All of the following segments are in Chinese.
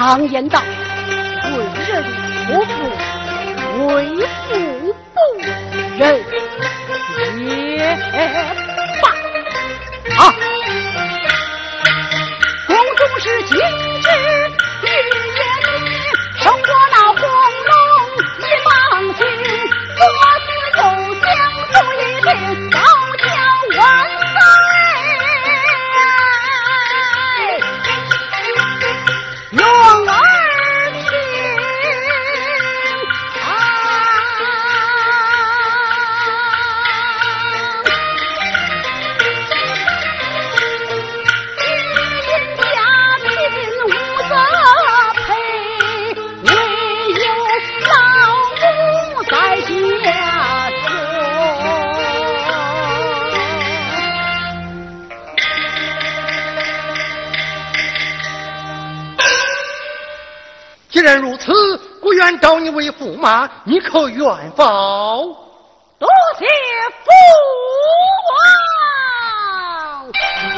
常言道，为人不富，为富不仁也罢。啊，宫中是今之玉颜女，胜过那黄龙一芒星，左思右想总一定高叫万岁。用耳听金银家贫无责赔，唯有老母在家中。 既然如此，我愿招你为驸马，你可愿否？ 多谢父王。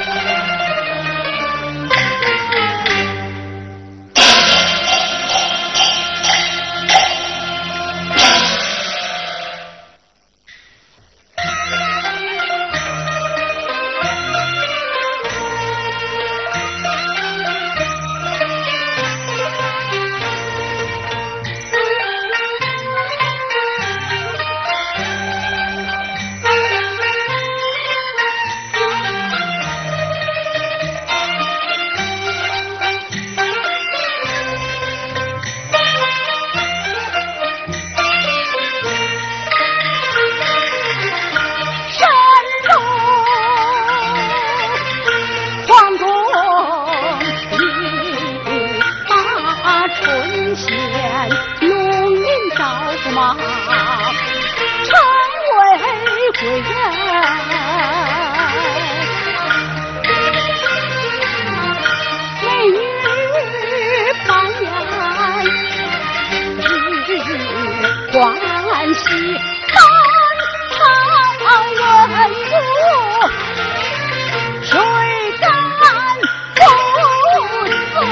欢喜三朝文武，谁敢不从？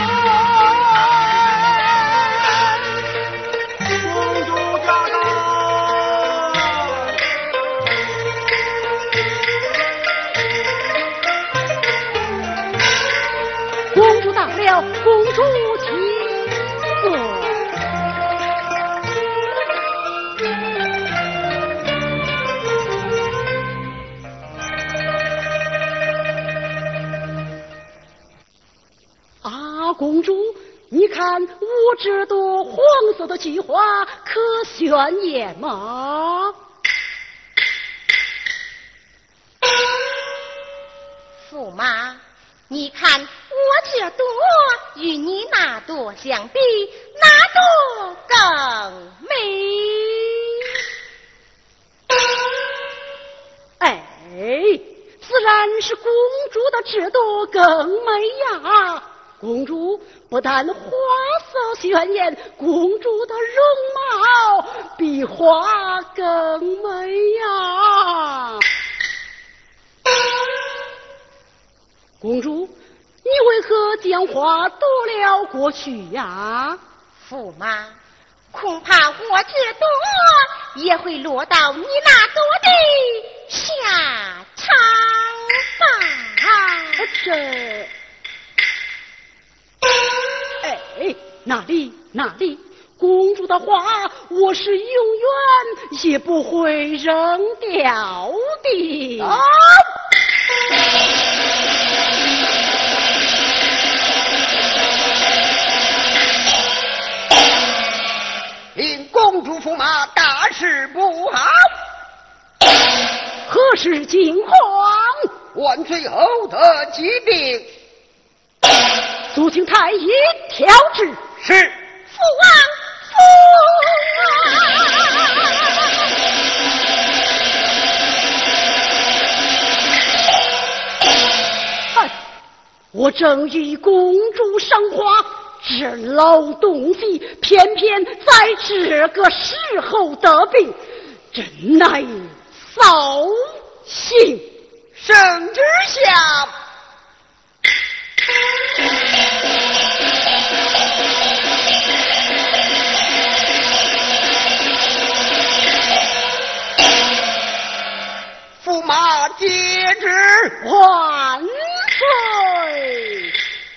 公主驾到！ 公主到了，公主请坐。公主，你看我这朵黄色的菊花可鲜艳吗？ 驸马，你看我这朵与你那朵相比，哪朵更美？ 哎，自然是公主的这朵更美呀！公主不但花色鲜艳，公主的容貌比花更美呀！公主，你为何将花夺了过去呀？ 驸马，恐怕我这朵也会落到你那朵的下场吧。 这。哎，哪里？公主的花，我是永远也不会扔掉的。 啊！令公主驸马大事不好！ 何事惊慌？ 万岁后的疾病。 速请太医调治。 是。 父王！我正与公主赏花，这老东西偏偏在这个时候得病，真乃扫兴。 圣旨下。 下接旨。 万岁！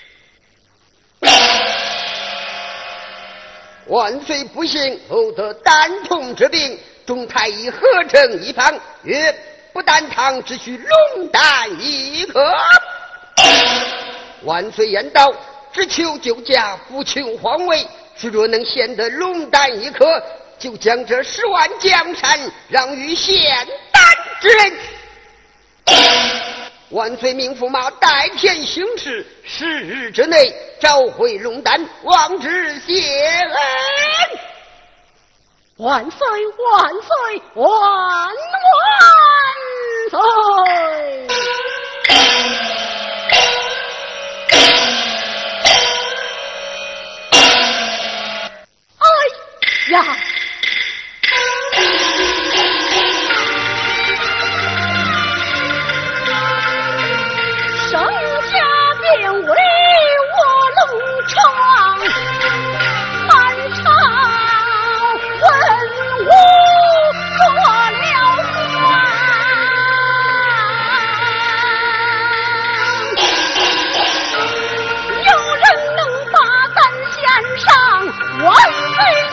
万岁不幸，后得丹痛之病，众太医合成一方，曰：不丹汤只需龙丹一颗。万岁言道：只求救驾，不求皇位。倘若能献得龙丹一颗，就将这10万江山让与献丹之人。万岁命驸马代天行事，10日之内召回龙丹，望之谢恩。 万岁！万岁！万岁！哎呀！上下便为我龙床，满朝文武做了皇。有人能把咱献上，万岁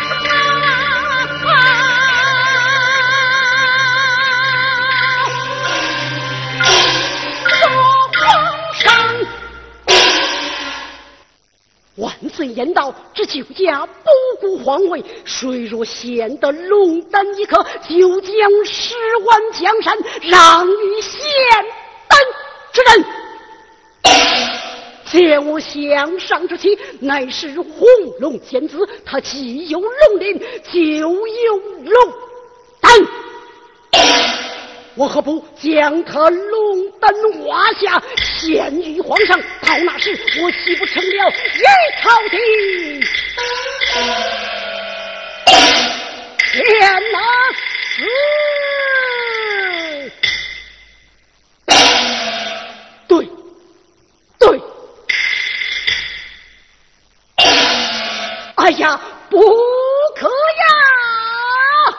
万岁言道：这酒家不顾皇位，谁若献得龙丹一颗，就将10万江山让与献丹之人。见我项上之妻，乃是红龙仙子，他既有龙鳞，就有龙丹。我何不将他龙丹挖下，献于皇上？到那时，我岂不成了一朝的天哪！对，对。哎呀，不可呀！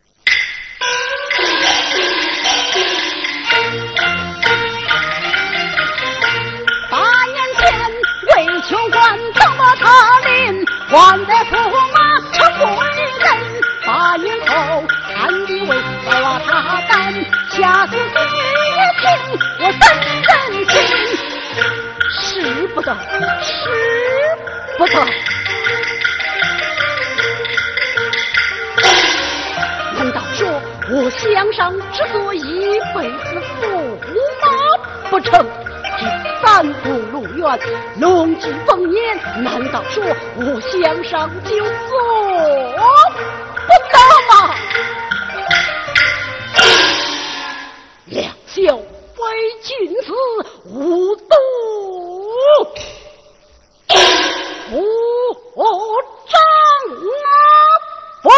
求官怎么他临，还得驸马成不为人。8年后暗地为我他担，下死也听我3人心，使不得，使不得。难道说我项上之所以一辈子驸马不成？3步路远，龙之丰年，难道说我项上就做不到吗？两袖为君子无度不长啊！不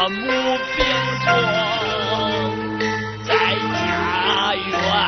母病重在家园。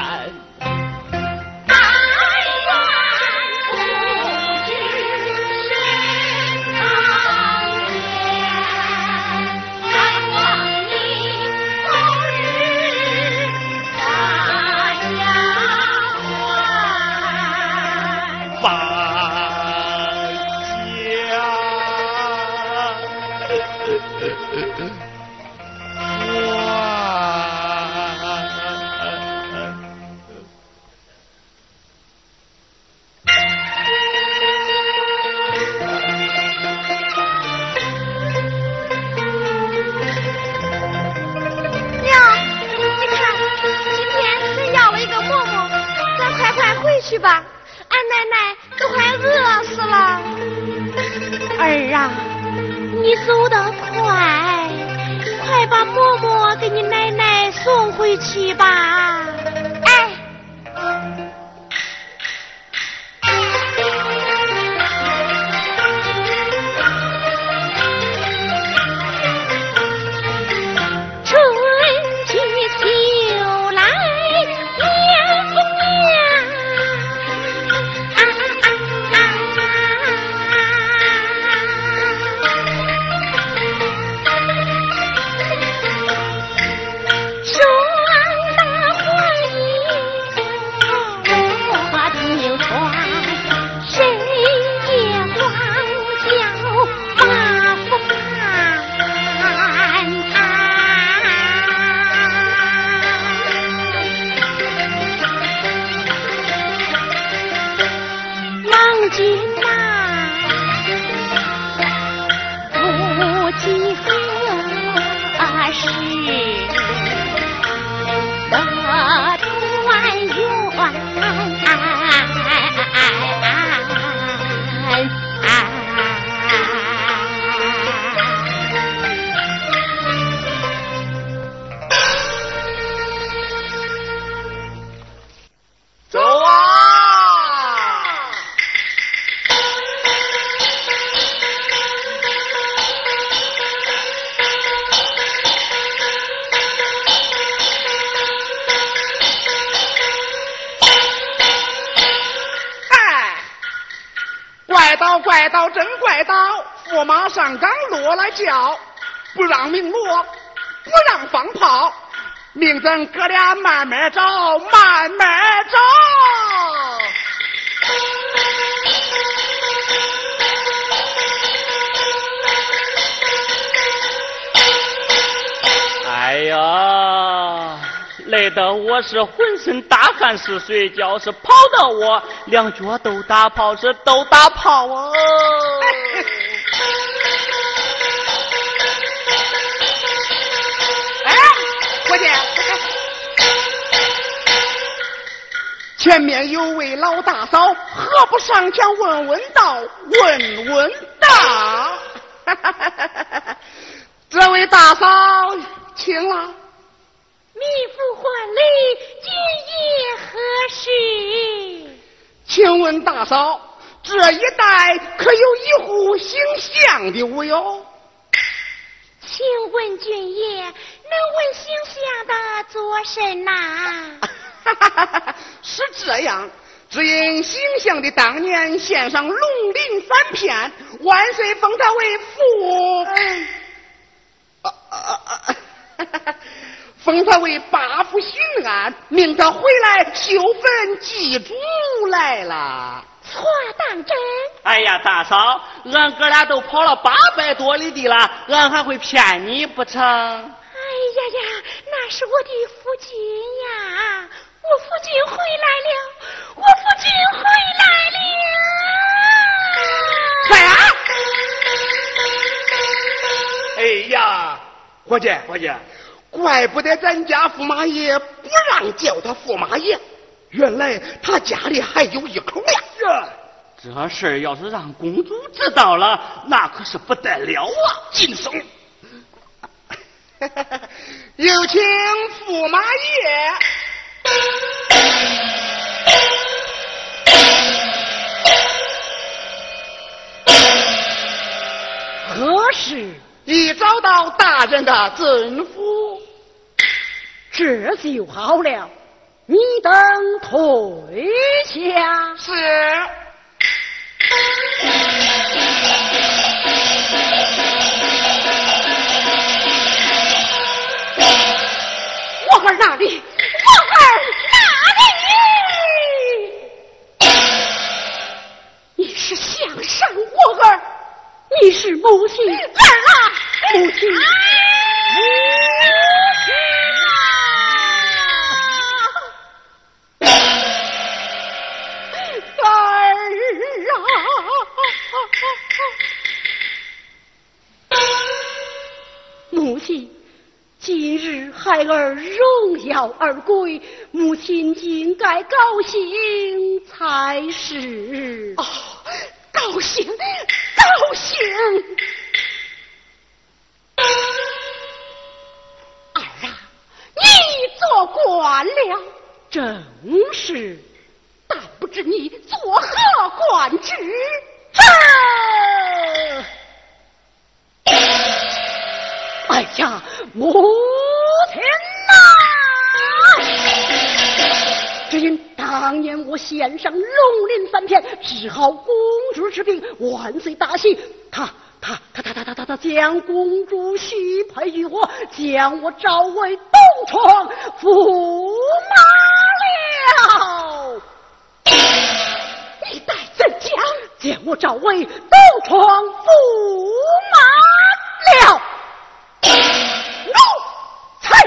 去吧，俺奶奶都快饿死了。 儿啊，你走得快，快把嬷嬷给你奶奶送回去吧。 哎， 春去秋来年复年，双大欢迎我听传，谁也光叫马福郎君呐，不计何时的团圆。 走啊！ 怪道真怪道，驸马上岗落来叫，不让鸣锣，不让放炮，命咱哥俩慢慢找，慢慢找。 哎呀，累得我是浑身大汗是水，觉是跑到我两脚都打泡，是都打泡啊！ 哎，伙计，前面有位老大嫂，何不上前问问道？问问道。这位大嫂，请了。 弥府还礼，今夜何事？ 请问大嫂，这一带可有一户姓向的无有？ 请问君爷，能问姓向的做甚呐？ 是这样，只因姓向的当年献上龙鳞3片，万岁封他为父。封他为八府巡按，命他回来修坟祭祖来了。 错当真？ 哎呀，大嫂，俺哥俩都跑了800多里地了，俺还会骗你不成？ 哎呀呀，那是我的夫君呀！我夫君回来了，我夫君回来了！ 快啊！哎呀，伙计，怪不得咱家驸马爷不让叫他驸马爷，原来他家里还有一口呀！ 这事儿要是让公主知道了，那可是不得了啊！ 惊悚！有请驸马爷。 何事？ 已遭到大人的吩咐。 这就好了，你等退下。 是。 我儿哪里？我儿哪里？你是想伤我儿？你是母亲儿啊！母亲，母亲啊！儿啊！母亲。今日孩儿荣耀而归，母亲应该高兴才是。 哦，高兴，高兴！ 儿啊，你做官了，正是，但不知你作何官职？哎呀，母亲呐！只因当年我献上龙鳞3片，治好公主之病，万岁大喜。他将公主许配于我，将我召为东床驸马了。你待怎讲？将我召为东床驸马了。奴才。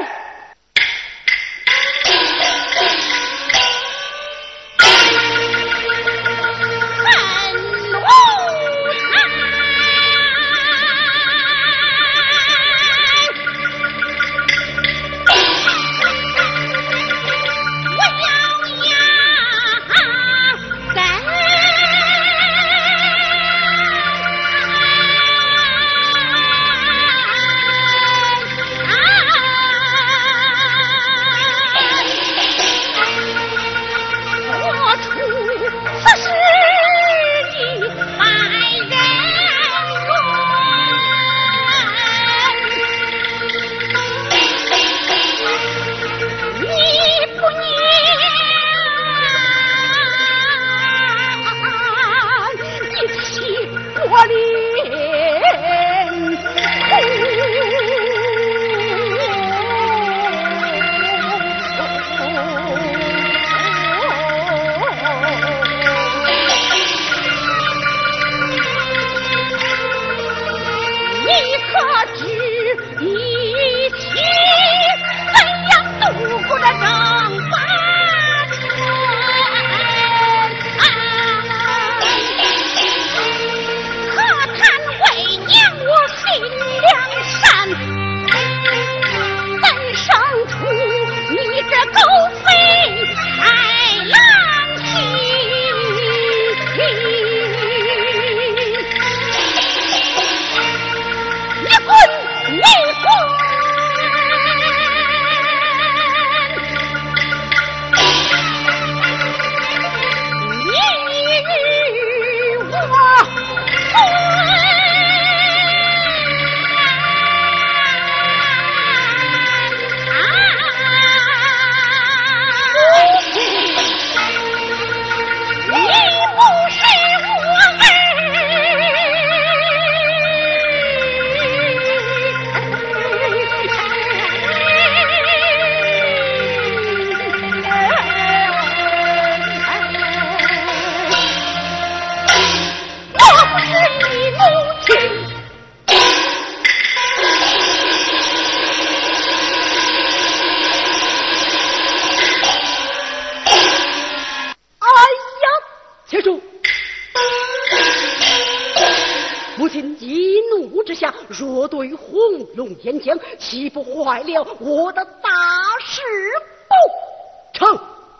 若对红龙岩浆，岂不坏了我的大事不成？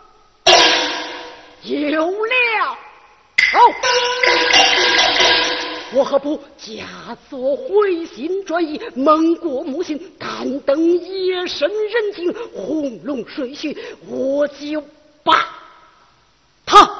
有了，我何不假作回心转意，蒙过母亲，敢登夜深人静，红龙水浒，我就把他。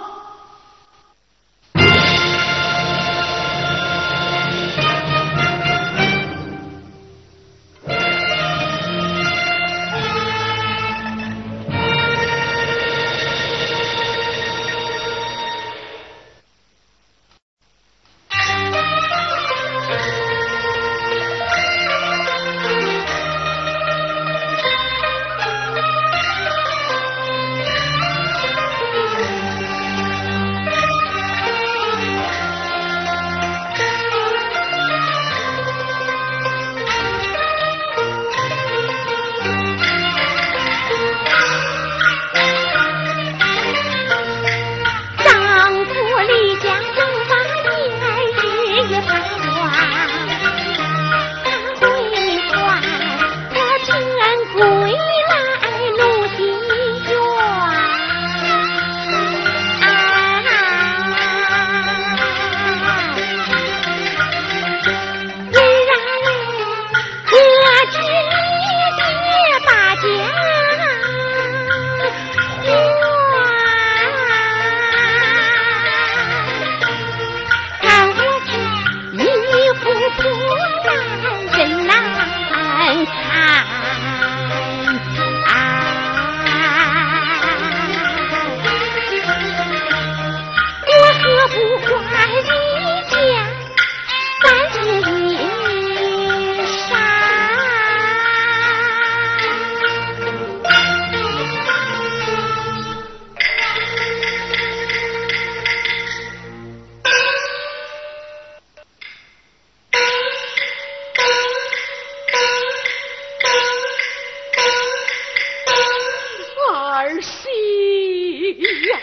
儿媳呀！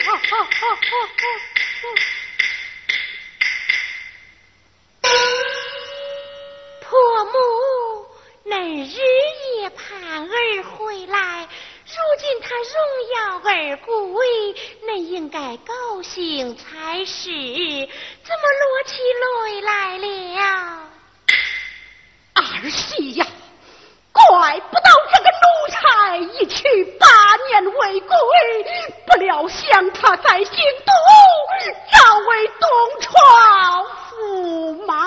婆母，恁日夜盼儿回来，如今他荣耀儿归，恁应该高兴才是，怎么落起泪来了？ 儿媳呀，怪不到这个奴才一去8年未归，不料想他在京都早为东床驸马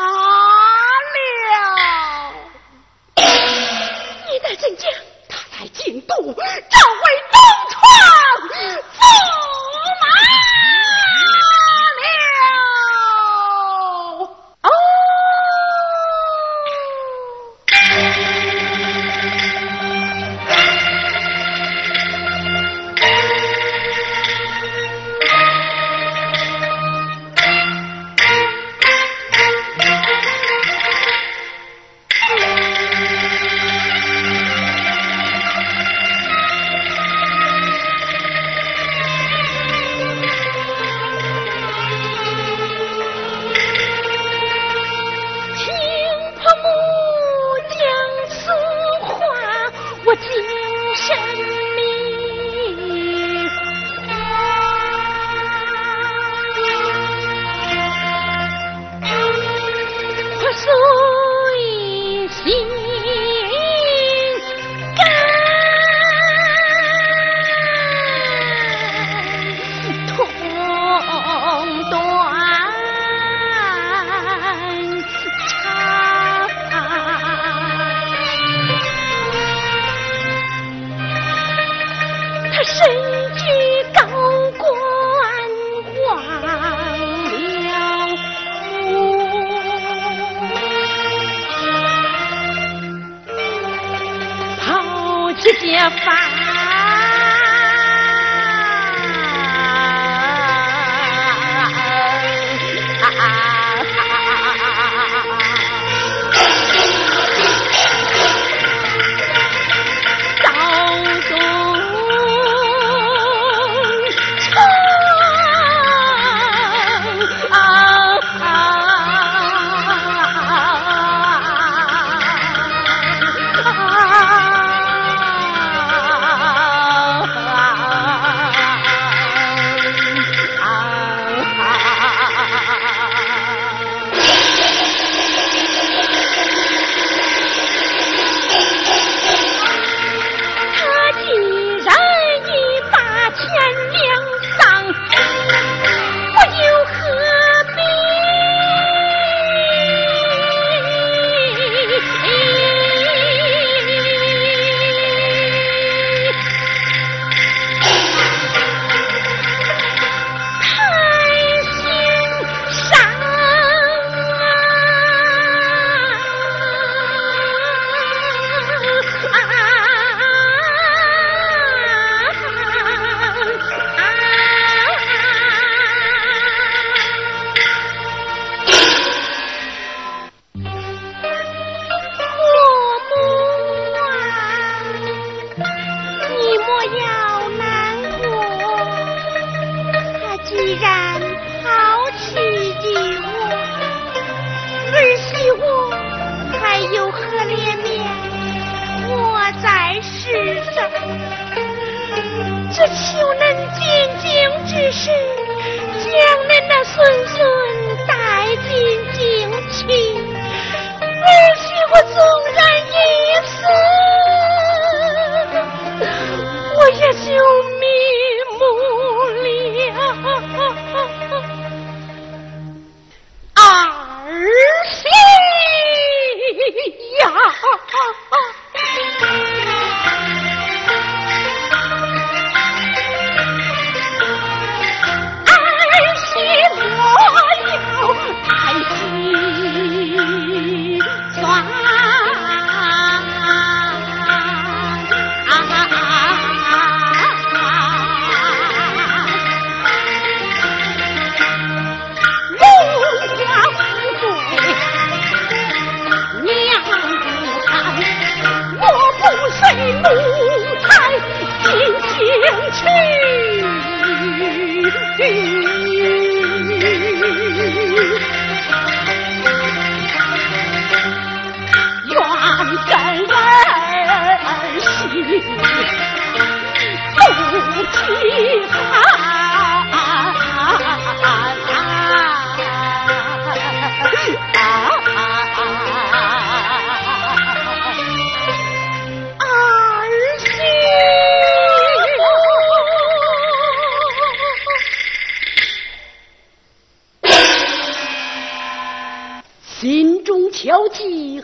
了。 你在怎讲？ 他在京都早为东床驸马了。哦。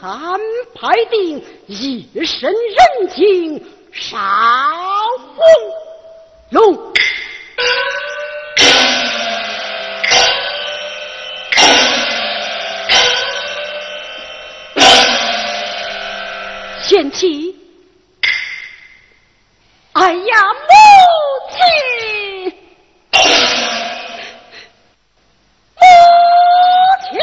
安排定，一身人情少红龙。贤妻，哎呀，母亲，母亲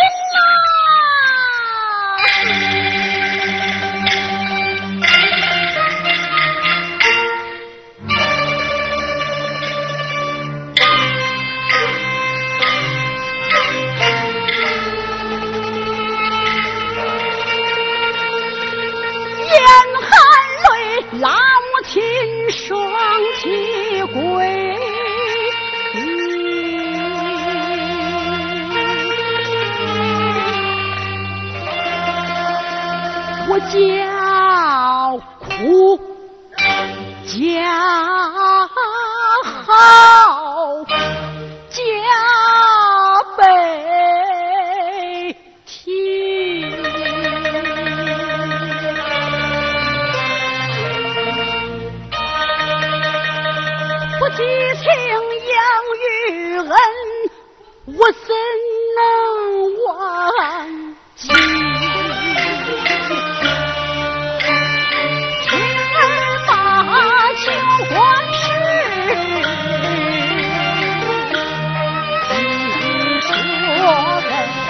拉母亲双膝跪，我叫苦叫好叫悲啼，我激情养育恩，我怎能忘记？天儿把求官事，听说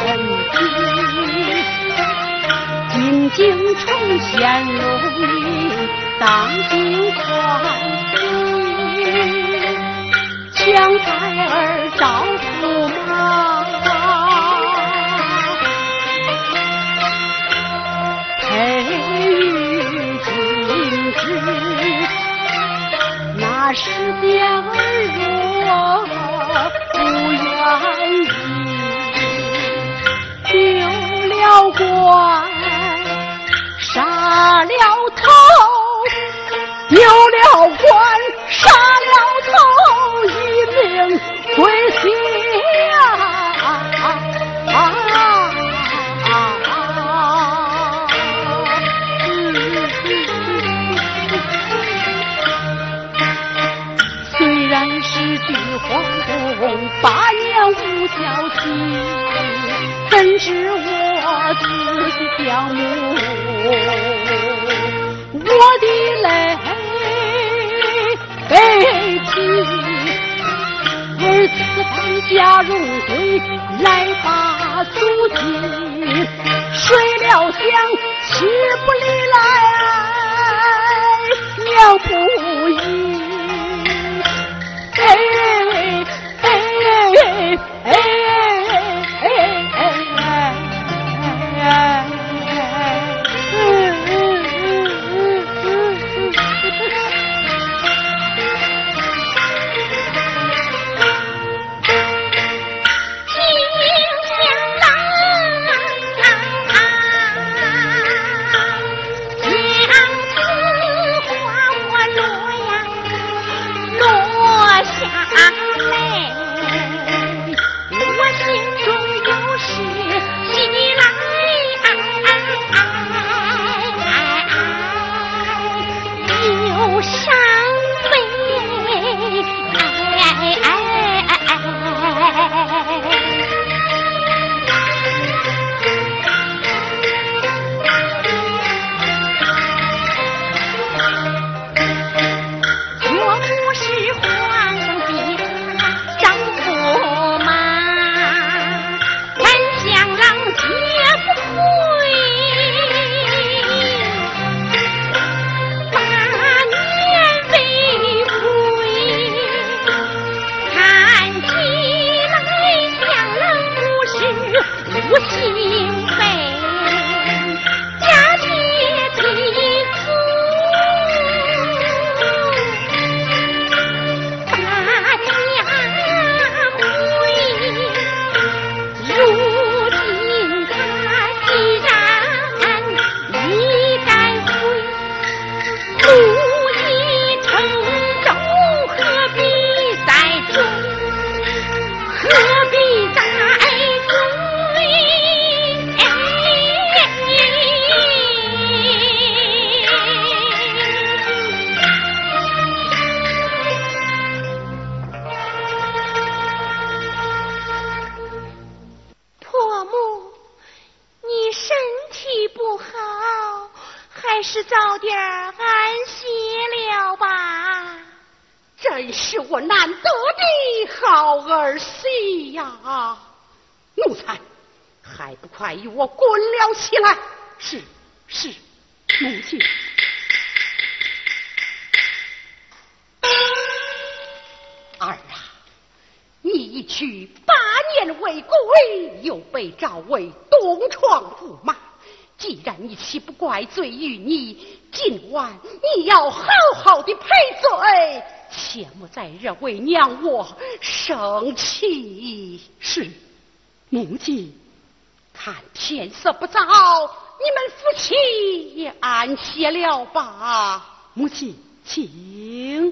恩弟，进京重显荣名，当今官。将孩儿照驸马，培育精致，那是点儿若不愿意，丢了官，杀了头，丢了官，杀了头，一命归西虽然是居皇宫，8年无消息，怎知我自己表母，我的泪悲啼，儿此番家荣归，来把足迹，谁料想妻不离来，娘不依， 真是我难得的好儿媳呀！奴才，还不快与我滚了起来！是，母亲。儿啊，你一去8年未归，又被召为东床驸马。既然你岂不怪罪于你，今晚你要好好的赔罪，切莫再惹为娘我生气。是，母亲。看天色不早，你们夫妻也安歇了吧。母亲，请。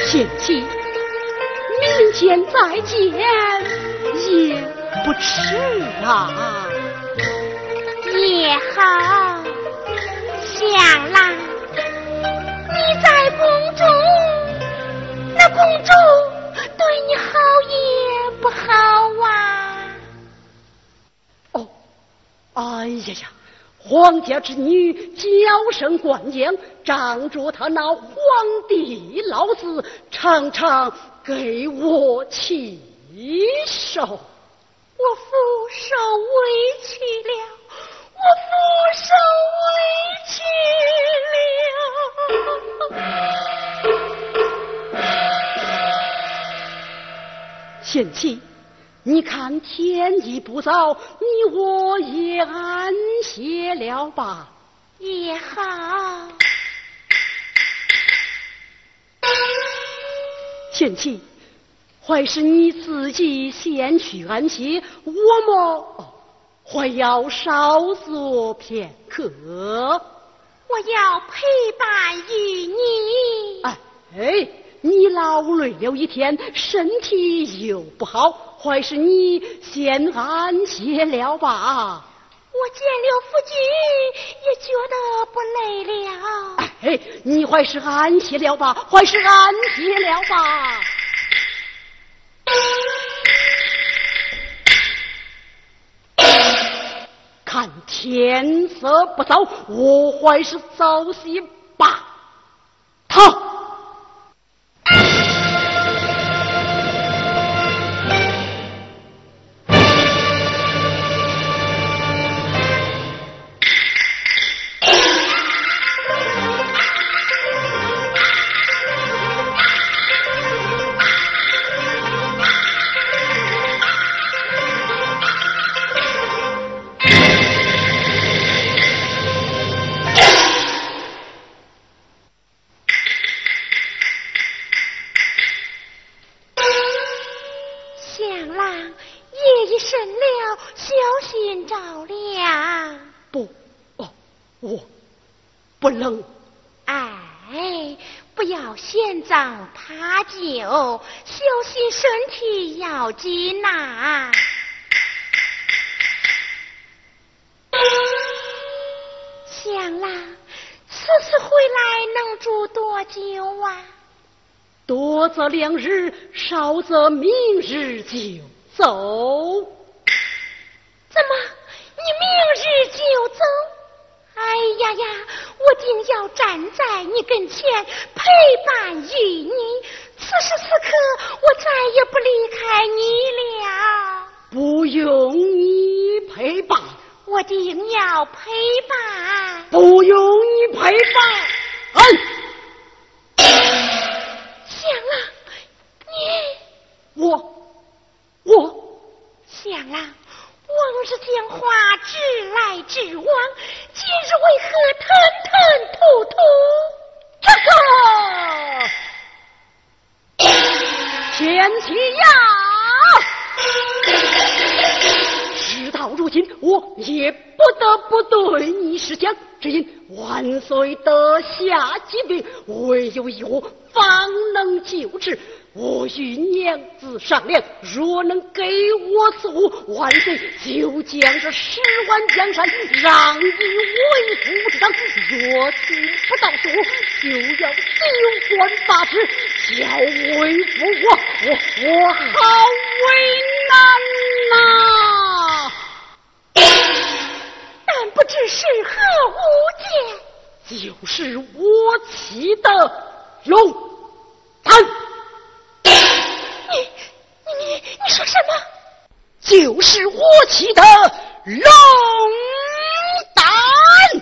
贤妻，明天再见也不迟啊。 也好，想啦，你在宫中，那公主对你好也不好啊。 哦，哎呀呀，皇家之女娇生惯养，仗着她那皇帝老子，常常给我起手， 我负受委屈了，我负受委屈了。 贤妻，你看天已不早，你我也安歇了吧。 也好。 贤妻，还是你自己先去安歇，我么还要稍坐片刻。 我要陪伴于你。 哎，你劳累了一天，身体又不好，还是你先安歇了吧。 我见了夫君也觉得不累了。 哎，你还是安歇了吧，还是安歇了吧。看天色不早，我还是早些吧。好。我不能。 哎，不要嫌脏怕旧，小心身体要紧呐。想啦，此次回来能住多久啊？ 多则2日，少则明日就走。 怎么，你明日就走？哎呀呀，我定要站在你跟前陪伴于你，此时此刻我再也不离开你了。 不用你陪伴， 我定要陪伴。 不用你陪伴。 香啊，你我香啊，往日讲话直来直往，今日为何吞吞吐吐？ 这个前妻呀，事到如今，我也不得不对你施讲，只因万岁得下疾病，唯有我方能救治。我与娘子商量，若能给我此物，万岁就将这10万江山让与为父之上；若听不到此物，就要丢官罢职，叫为父我好为难呐！ 但不知是何物件？ 就是我妻的龙丹。 你说什么？ 就是我妻的龙丹。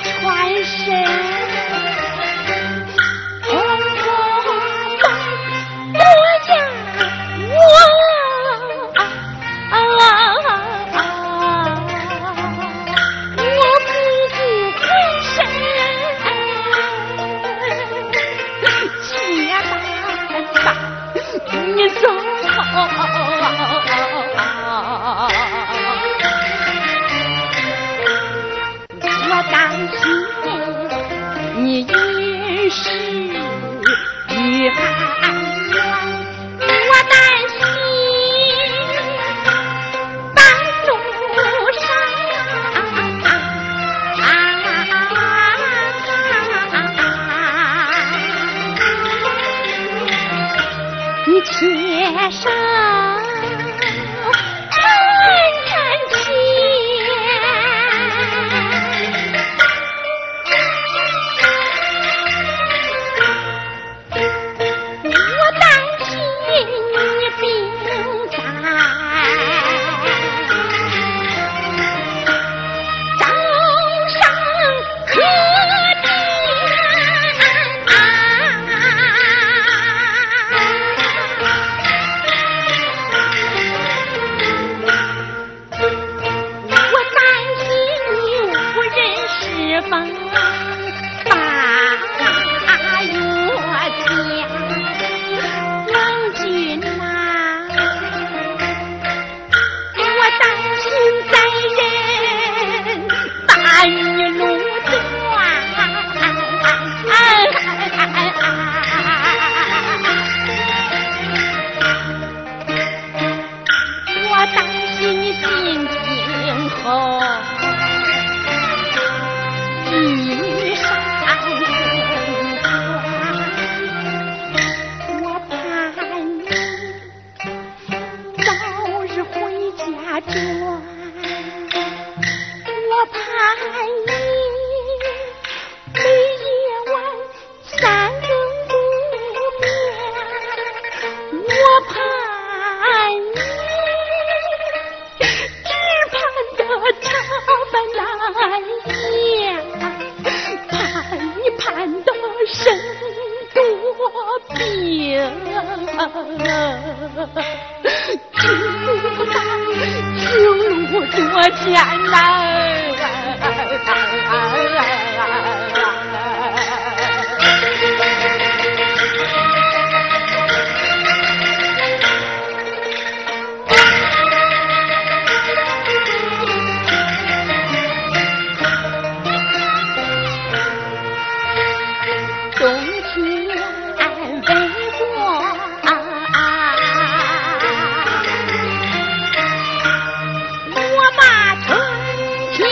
穿身，红红的模样我不顾浑身，且担你走我担心你一时遇寒冤，我担心半路上你且上我把春天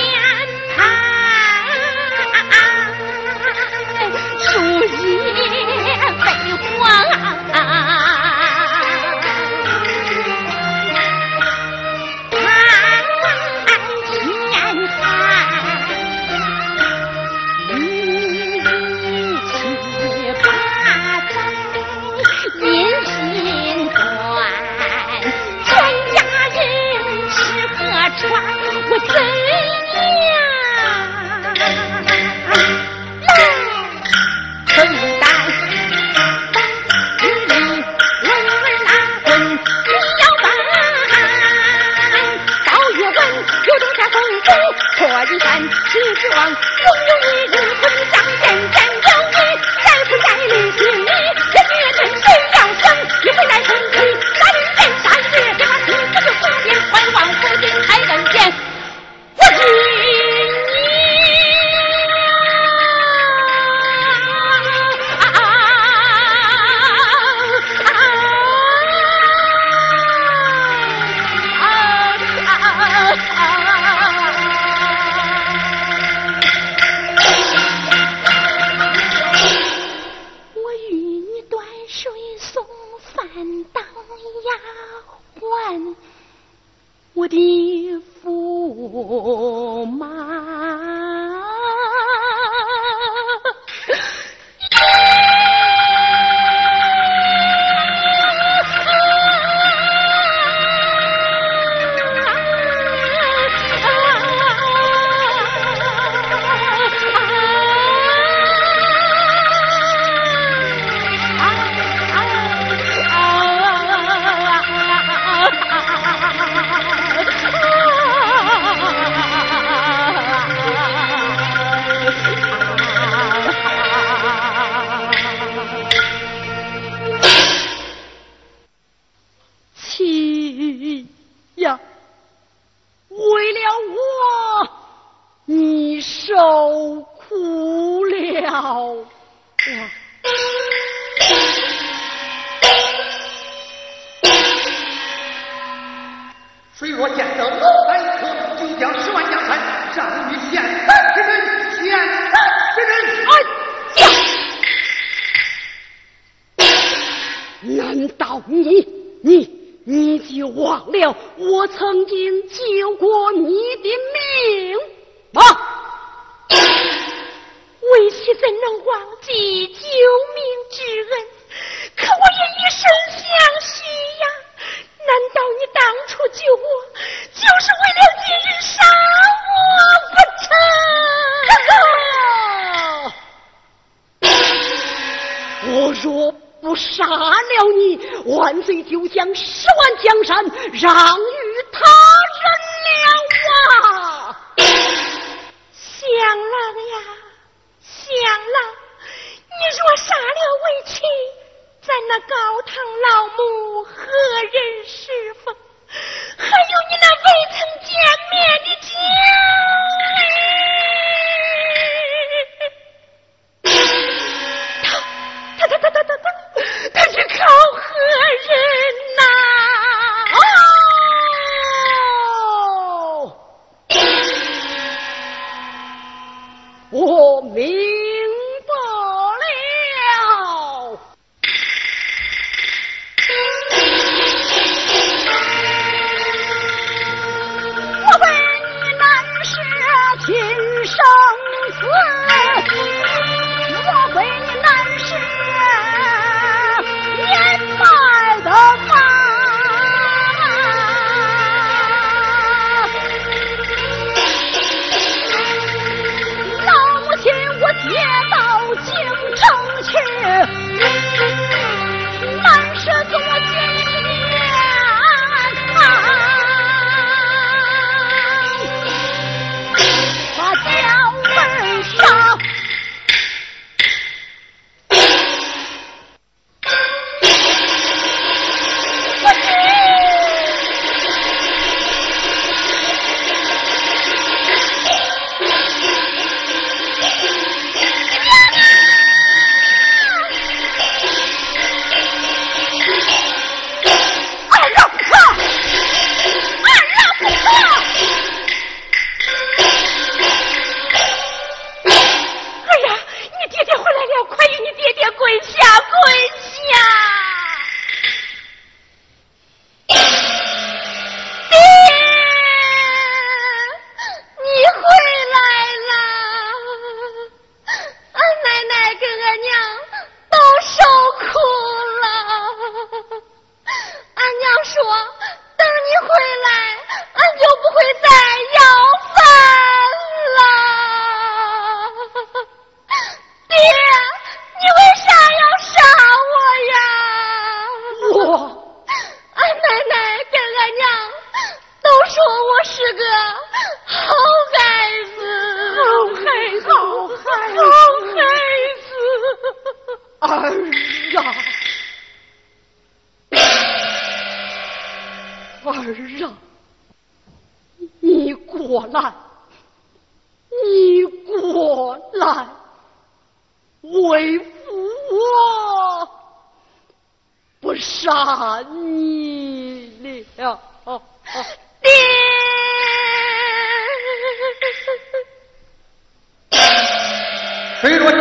受苦了。 谁若见得老百科，就将10万江山让与现代之人，现代之人。 哎呀！难道你就忘了我曾经救过你的命吗？ 为妻怎能忘记救命之恩？可我也一生相许呀！难道你当初救我，就是为了今日杀我不成？我若不杀了你，万岁就将10万江山让与他人了啊！ 相郎呀，相郎，你若杀了为妻，咱那高堂老母何人侍奉？还有你那未曾见面的家他是靠何人呐？ 我明白了。我为你难舍亲生子，我为你难舍年迈的妈。老母亲，我接到京城去，难舍做监员把姜文杀。你过来，为父我不杀你了。 爹， 谁若